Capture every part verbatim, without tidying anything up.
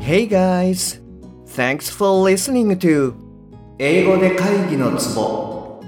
Hey guys! Thanks for listening to 英語で会議のツボ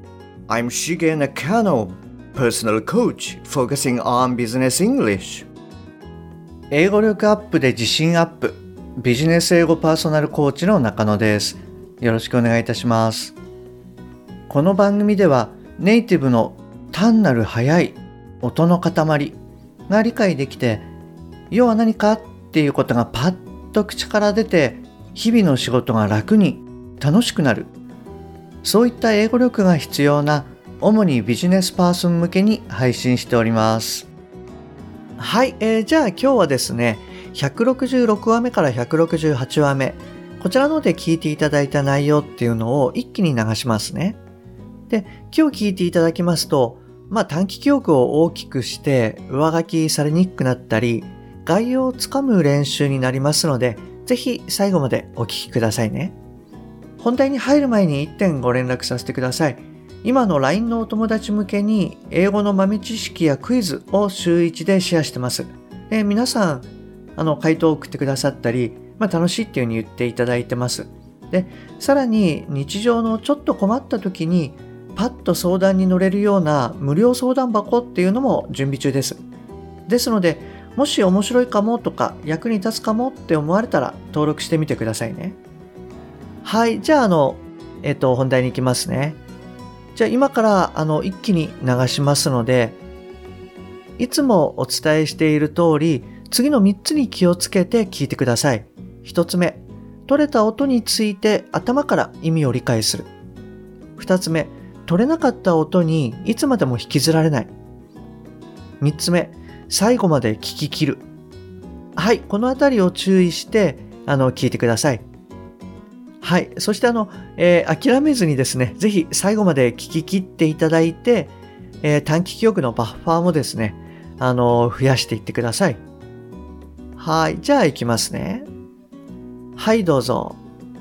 I'm Shige Nakano, personal coach focusing on business English 英語力アップで自信アップビジネス英語パーソナルコーチの中野です。よろしくお願いいたします。この番組ではネイティブの単なる速い音の塊が理解できて、要は何かっていうことがパッと口から出て、日々の仕事が楽に楽しくなる、そういった英語力が必要な主にビジネスパーソン向けに配信しております。はい、えー、じゃあ今日はですねひゃくろくじゅうろくわめからひゃくろくじゅうはちわめ、こちらので聞いていただいた内容っていうのを一気に流しますね。で、今日聞いていただきますと、まあ短期記憶を大きくして上書きされにくくなったり、概要をつかむ練習になりますので、ぜひ最後までお聞きくださいね。本題に入る前にいってんご連絡させてください。今の ライン のお友達向けに英語の豆知識やクイズを週いちでシェアしてます。で、皆さんあの回答を送ってくださったり、まあ、楽しいっていう風に言っていただいてます。で、さらに日常のちょっと困った時にパッと相談に乗れるような無料相談箱っていうのも準備中です。ですので、もし面白いかもとか役に立つかもって思われたら登録してみてくださいね。はい、じゃああの、えっと、本題に行きますね。じゃあ今からあの一気に流しますので、いつもお伝えしている通り、次のみっつに気をつけて聞いてください。ひとつめ、取れた音について頭から意味を理解する。ふたつめ、取れなかった音にいつまでも引きずられない。みっつめ、最後まで聞き切る。はい、このあたりを注意してあの聞いてください。はい、そしてあの、えー、諦めずにですね、ぜひ最後まで聞き切っていただいて、えー、短期記憶のバッファーもですね、あの増やしていってください。はい、じゃあ行きますね。はい、どうぞ。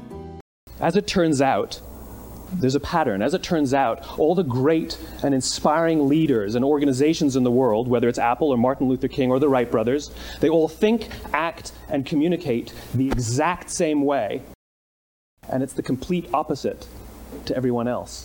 As it turns out, there's a pattern. As it turns out, all the great and inspiring leaders and organizations in the world, whether it's Apple or Martin Luther King or the Wright brothers, they all think, act, and communicate the exact same way. And it's the complete opposite to everyone else.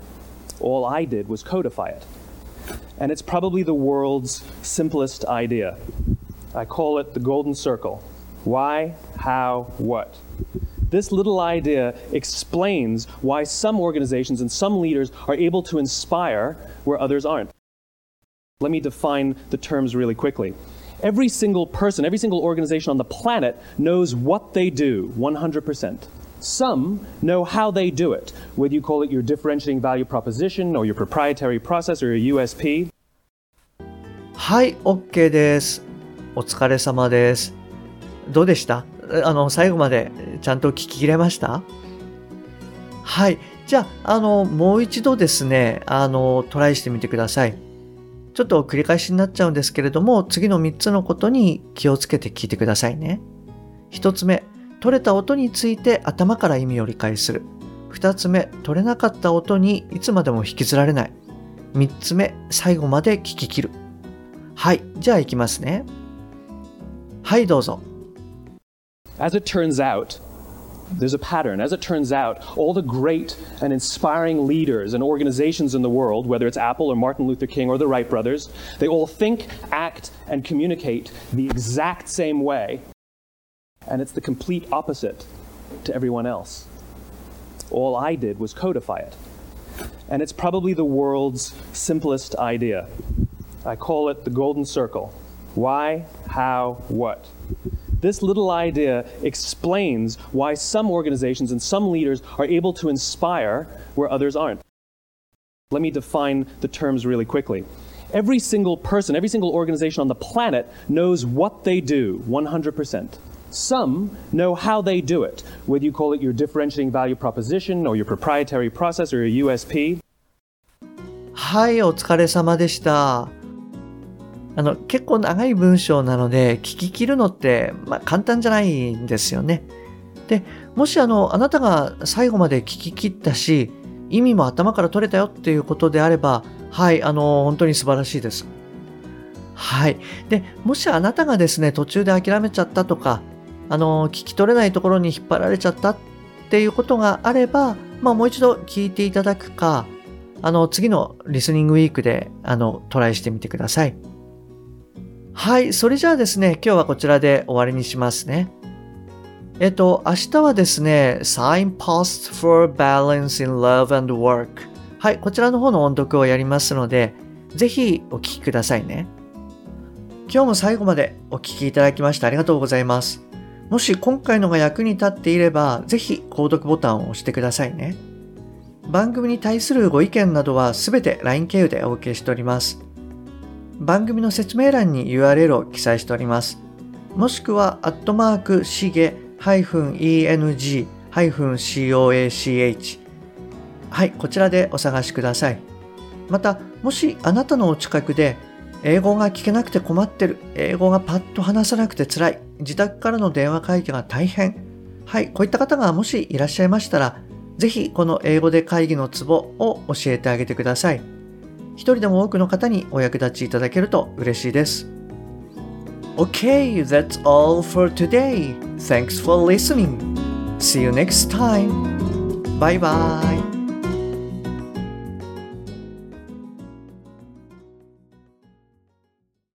All I did was codify it. And it's probably the world's simplest idea. I call it the golden circle. Why, how, what? This little idea explains why some organizations and some leaders are able to inspire where others aren't. Let me define the terms really quickly. Every single person, every single organization on the planet knows what they do one hundred percent. Some know how they do it, whether you call it your differentiating value proposition or your proprietary process or your U S P. はい、OK です。お疲れ様です。どうでした？あの、最後までちゃんと聞き切れました？はい。じゃあ、あの、もう一度ですね、あの、トライしてみてください。ちょっと繰り返しになっちゃうんですけれども、次のみっつのことに気をつけて聞いてくださいね。ひとつめ、取れた音について頭から意味を理解する。ふたつめ、取れなかった音にいつまでも引きずられない。みっつめ、最後まで聞き切る。はい。じゃあ行きますね。はい、どうぞ。 As it turns out, there's a pattern. As it turns out, all the great and inspiring leaders and organizations in the world, whether it's Apple or Martin Luther King or the Wright brothers, they all think, act, and communicate the exact same way. And it's the complete opposite to everyone else. All I did was codify it. And it's probably the world's simplest idea. I call it the golden circle. Why, how, what? This little idea explains why some organizations and some leaders are able to inspire where others aren't. Let me define the terms really quickly. Every single person, every single organization on the planet knows what they do one hundred percent. Some know how they do it, whether you call it your differentiating value proposition or your proprietary process or your U S P. はい、お疲れ様でした。あの、結構長い文章なので聞き切るのって、まあ、簡単じゃないんですよね。で、もしあの、あなたが最後まで聞き切ったし、意味も頭から取れたよっていうことであれば、はい、あの、本当に素晴らしいです。はい。で、もしあなたがですね、途中で諦めちゃったとか、 あの聞き取れないところに引っ張られちゃったっていうことがあれば、まあ、もう一度聞いていただくか、あの次のリスニングウィークであのトライしてみてください。はい、それじゃあですね、今日はこちらで終わりにしますね。えっと、明日はですね、Signposts for Balance in Love and Work。はい、こちらの方の音読をやりますので、ぜひお聞きくださいね。今日も最後までお聞きいただきましてありがとうございます。もし今回のが役に立っていれば、ぜひ購読ボタンを押してくださいね。番組に対するご意見などはすべて ライン 経由でお受けしております。番組の説明欄に ユーアールエル を記載しております。もしくは、アットマーク、しげ -eng-coach。はい、こちらでお探しください。また、もしあなたのお近くで、英語が聞けなくて困ってる、英語がパッと話さなくて辛い、自宅からの電話会議が大変。はい、こういった方がもしいらっしゃいましたら、ぜひこの英語で会議のツボを教えてあげてください。一人でも多くの方にお役立ちいただけると嬉しいです。Okay, that's all for today. Thanks for listening. See you next time. Bye bye.